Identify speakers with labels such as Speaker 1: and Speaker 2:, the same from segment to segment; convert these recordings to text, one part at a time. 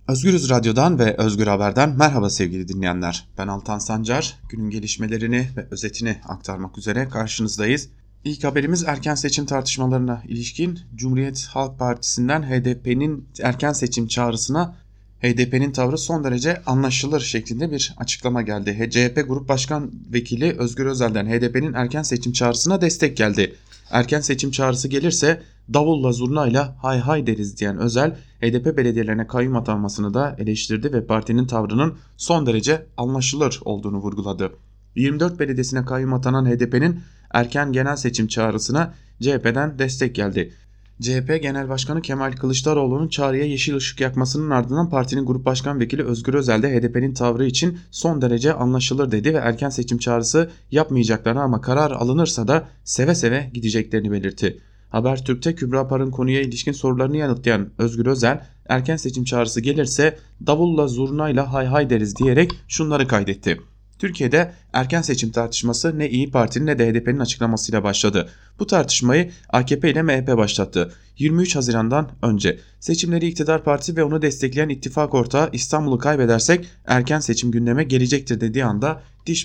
Speaker 1: Özgürüz Radyo'dan ve Özgür Haber'den merhaba sevgili dinleyenler. Ben Altan Sancar, günün gelişmelerini ve özetini aktarmak üzere karşınızdayız. İlk haberimiz erken seçim tartışmalarına ilişkin Cumhuriyet Halk Partisi'nden HDP'nin erken seçim çağrısına HDP'nin tavrı son derece anlaşılır şeklinde bir açıklama geldi. CHP Grup Başkan Vekili Özgür Özel'den HDP'nin erken seçim çağrısına destek geldi. Erken seçim çağrısı gelirse davulla zurnayla hay hay deriz diyen Özel, HDP belediyelerine kayyum atanmasını da eleştirdi ve partinin tavrının son derece anlaşılır olduğunu vurguladı. 24 belediyesine kayyum atanan HDP'nin erken genel seçim çağrısına CHP'den destek geldi. CHP Genel Başkanı Kemal Kılıçdaroğlu'nun çağrıya yeşil ışık yakmasının ardından partinin Grup Başkan Vekili Özgür Özel de HDP'nin tavrı için son derece anlaşılır dedi ve erken seçim çağrısı yapmayacaklarını ama karar alınırsa da seve seve gideceklerini belirtti. Habertürk'te Kübra Par'ın konuya ilişkin sorularını yanıtlayan Özgür Özel, erken seçim çağrısı gelirse davulla zurnayla hay hay deriz diyerek şunları kaydetti. Türkiye'de erken seçim tartışması ne İyi Parti'nin ne de HDP'nin açıklamasıyla başladı. Bu tartışmayı AKP ile MHP başlattı. 23 Haziran'dan önce seçimleri iktidar partisi ve onu destekleyen ittifak ortağı İstanbul'u kaybedersek erken seçim gündeme gelecektir dediği anda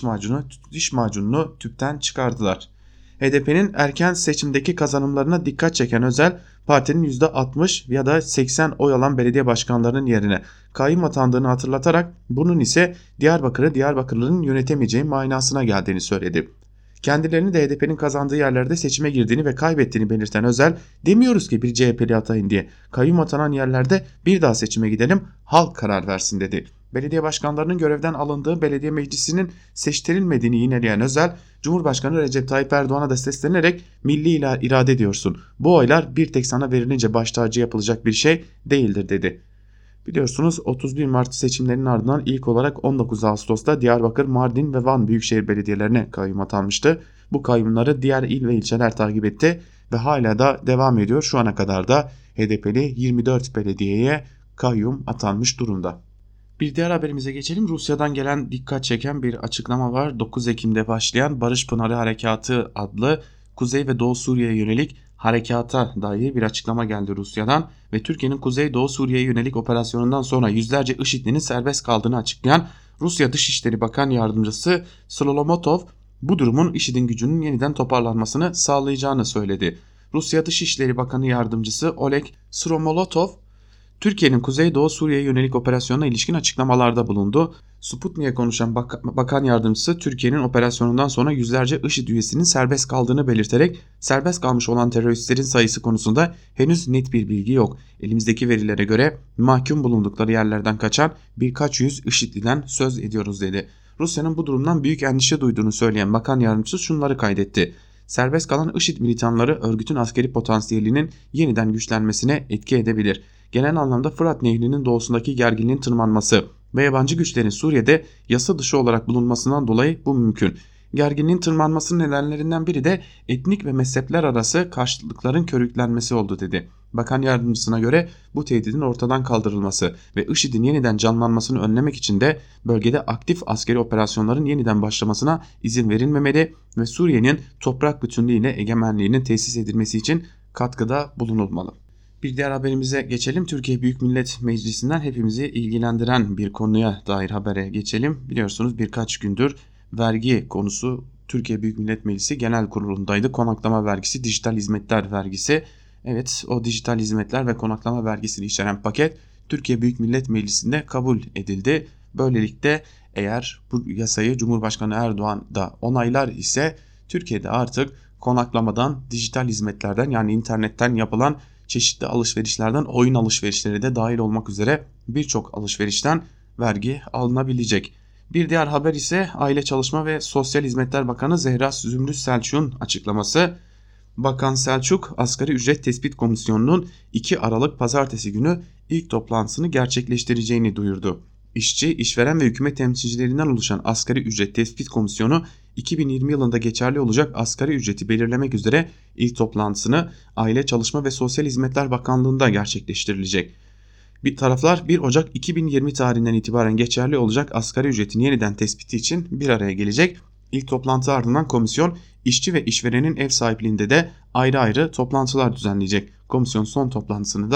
Speaker 1: diş macununu tüpten çıkardılar. HDP'nin erken seçimdeki kazanımlarına dikkat çeken Özel, partinin %60 ya da 80 oy alan belediye başkanlarının yerine kayyum atandığını hatırlatarak bunun ise Diyarbakır'ı Diyarbakırlıların yönetemeyeceği manasına geldiğini söyledi. Kendilerini de HDP'nin kazandığı yerlerde seçime girdiğini ve kaybettiğini belirten Özel, demiyoruz ki bir CHP'li atayın diye, kayyum atanan yerlerde bir daha seçime gidelim, halk karar versin dedi. Belediye başkanlarının görevden alındığı belediye meclisinin seçtirilmediğini yineleyen Özel, Cumhurbaşkanı Recep Tayyip Erdoğan'a da seslenerek milli irade diyorsun. Bu oylar bir tek sana verilince baş tacı yapılacak bir şey değildir dedi. Biliyorsunuz 31 Mart seçimlerinin ardından ilk olarak 19 Ağustos'ta Diyarbakır, Mardin ve Van Büyükşehir Belediyelerine kayyum atanmıştı. Bu kayyumları diğer il ve ilçeler takip etti ve hala da devam ediyor. Şu ana kadar da HDP'li 24 belediyeye kayyum atanmış durumda. Bir diğer haberimize geçelim. Rusya'dan gelen dikkat çeken bir açıklama var. 9 Ekim'de başlayan Barış Pınarı Harekatı adlı Kuzey ve Doğu Suriye'ye yönelik harekata dair bir açıklama geldi Rusya'dan ve Türkiye'nin Kuzey Doğu Suriye'ye yönelik operasyonundan sonra yüzlerce IŞİD'linin serbest kaldığını açıklayan Rusya Dışişleri Bakan Yardımcısı Slolomotov bu durumun IŞİD'in gücünün yeniden toparlanmasını sağlayacağını söyledi. Rusya Dışişleri Bakanı Yardımcısı Oleg Sromolotov, Türkiye'nin Kuzeydoğu Suriye'ye yönelik operasyonuna ilişkin açıklamalarda bulundu. Sputnik'e konuşan bakan yardımcısı Türkiye'nin operasyonundan sonra yüzlerce IŞİD üyesinin serbest kaldığını belirterek serbest kalmış olan teröristlerin sayısı konusunda henüz net bir bilgi yok. Elimizdeki verilere göre mahkum bulundukları yerlerden kaçan birkaç yüz IŞİD'liden söz ediyoruz dedi. Rusya'nın bu durumdan büyük endişe duyduğunu söyleyen bakan yardımcısı şunları kaydetti. Serbest kalan IŞİD militanları örgütün askeri potansiyelinin yeniden güçlenmesine etki edebilir. Genel anlamda Fırat Nehri'nin doğusundaki gerginliğin tırmanması ve yabancı güçlerin Suriye'de yasa dışı olarak bulunmasından dolayı bu mümkün. Gerginliğin tırmanmasının nedenlerinden biri de etnik ve mezhepler arası karşıtlıkların körüklenmesi oldu dedi. Bakan yardımcısına göre bu tehdidin ortadan kaldırılması ve IŞİD'in yeniden canlanmasını önlemek için de bölgede aktif askeri operasyonların yeniden başlamasına izin verilmemeli ve Suriye'nin toprak bütünlüğüne egemenliğinin tesis edilmesi için katkıda bulunulmalı. Bir diğer haberimize geçelim. Türkiye Büyük Millet Meclisi'nden hepimizi ilgilendiren bir konuya dair habere geçelim. Biliyorsunuz birkaç gündür vergi konusu Türkiye Büyük Millet Meclisi Genel Kurulu'ndaydı. Konaklama vergisi, dijital hizmetler vergisi. Evet, o dijital hizmetler ve konaklama vergisini içeren paket Türkiye Büyük Millet Meclisi'nde kabul edildi. Böylelikle eğer bu yasayı Cumhurbaşkanı Erdoğan da onaylar ise Türkiye'de artık konaklamadan, dijital hizmetlerden yani internetten yapılan çeşitli alışverişlerden oyun alışverişleri de dahil olmak üzere birçok alışverişten vergi alınabilecek. Bir diğer haber ise Aile Çalışma ve Sosyal Hizmetler Bakanı Zehra Zümrüt Selçuk'un açıklaması. Bakan Selçuk, Asgari Ücret Tespit Komisyonu'nun 2 Aralık Pazartesi günü ilk toplantısını gerçekleştireceğini duyurdu. İşçi, işveren ve hükümet temsilcilerinden oluşan Asgari Ücret Tespit Komisyonu 2020 yılında geçerli olacak asgari ücreti belirlemek üzere ilk toplantısını Aile Çalışma ve Sosyal Hizmetler Bakanlığı'nda gerçekleştirilecek. Taraflar 1 Ocak 2020 tarihinden itibaren geçerli olacak asgari ücretin yeniden tespiti için bir araya gelecek. İlk toplantı ardından komisyon işçi ve işverenin ev sahipliğinde de ayrı ayrı toplantılar düzenleyecek. Komisyon son toplantısını da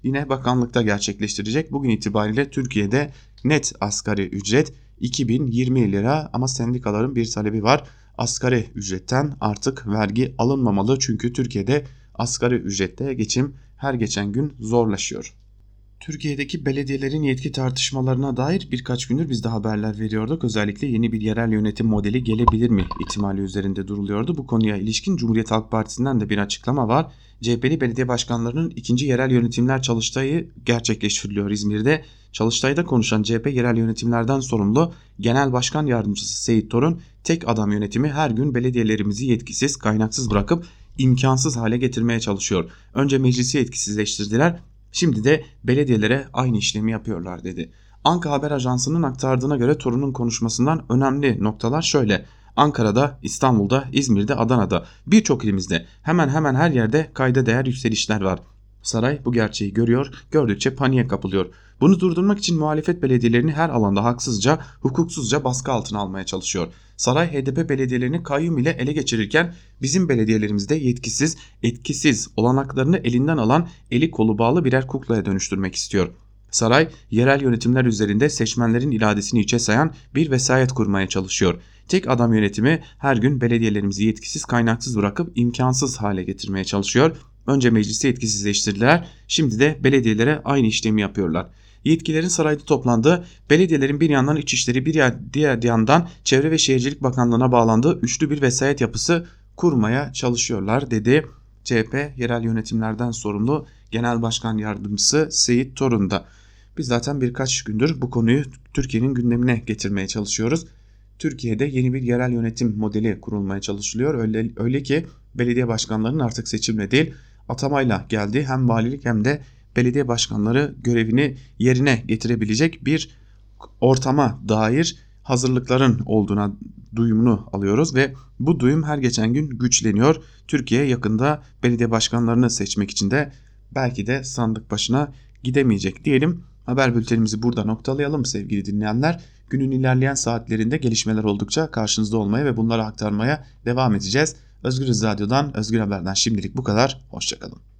Speaker 1: yine bakanlıkta gerçekleştirecek. Bugün itibariyle Türkiye'de net asgari ücret 2020 lira ama sendikaların bir talebi var. Asgari ücretten artık vergi alınmamalı çünkü Türkiye'de asgari ücrette geçim her geçen gün zorlaşıyor. Türkiye'deki belediyelerin yetki tartışmalarına dair birkaç gündür biz de haberler veriyorduk. Özellikle yeni bir yerel yönetim modeli gelebilir mi ihtimali üzerinde duruluyordu. Bu konuya ilişkin Cumhuriyet Halk Partisi'nden de bir açıklama var. CHP'li belediye başkanlarının ikinci yerel yönetimler çalıştayı gerçekleştiriliyor İzmir'de. Çalıştayda konuşan CHP yerel yönetimlerden sorumlu Genel Başkan Yardımcısı Seyit Torun, tek adam yönetimi her gün belediyelerimizi yetkisiz, kaynaksız bırakıp imkansız hale getirmeye çalışıyor. Önce meclisi yetkisizleştirdiler. Şimdi de belediyelere aynı işlemi yapıyorlar dedi. Anka Haber Ajansı'nın aktardığına göre Torun'un konuşmasından önemli noktalar şöyle. Ankara'da, İstanbul'da, İzmir'de, Adana'da birçok ilimizde hemen hemen her yerde kayda değer yükselişler var. Saray bu gerçeği görüyor, gördükçe paniğe kapılıyor. Bunu durdurmak için muhalefet belediyelerini her alanda haksızca, hukuksuzca baskı altına almaya çalışıyor. Saray HDP belediyelerini kayyum ile ele geçirirken bizim belediyelerimizde yetkisiz, etkisiz olanaklarını elinden alan eli kolu bağlı birer kuklaya dönüştürmek istiyor. Saray yerel yönetimler üzerinde seçmenlerin iradesini içe sayan bir vesayet kurmaya çalışıyor. Tek adam yönetimi her gün belediyelerimizi yetkisiz kaynaksız bırakıp imkansız hale getirmeye çalışıyor. Önce meclisi yetkisizleştirdiler, şimdi de belediyelere aynı işlemi yapıyorlar. Yetkilerin sarayda toplandığı, belediyelerin bir yandan İçişleri diğer yandan Çevre ve Şehircilik Bakanlığı'na bağlandığı üçlü bir vesayet yapısı kurmaya çalışıyorlar dedi. CHP yerel yönetimlerden sorumlu Genel Başkan Yardımcısı Seyit Torun da. Biz zaten birkaç gündür bu konuyu Türkiye'nin gündemine getirmeye çalışıyoruz. Türkiye'de yeni bir yerel yönetim modeli kurulmaya çalışılıyor. Öyle ki belediye başkanlarının artık seçimle değil atamayla geldiği hem valilik hem de belediye başkanları görevini yerine getirebilecek bir ortama dair hazırlıkların olduğuna duyumunu alıyoruz ve bu duyum her geçen gün güçleniyor. Türkiye yakında belediye başkanlarını seçmek için de belki de sandık başına gidemeyecek diyelim. Haber bültenimizi burada noktalayalım sevgili dinleyenler. Günün ilerleyen saatlerinde gelişmeler oldukça karşınızda olmaya ve bunları aktarmaya devam edeceğiz. Özgürüz Radyo'dan, Özgür Haber'den şimdilik bu kadar. Hoşçakalın.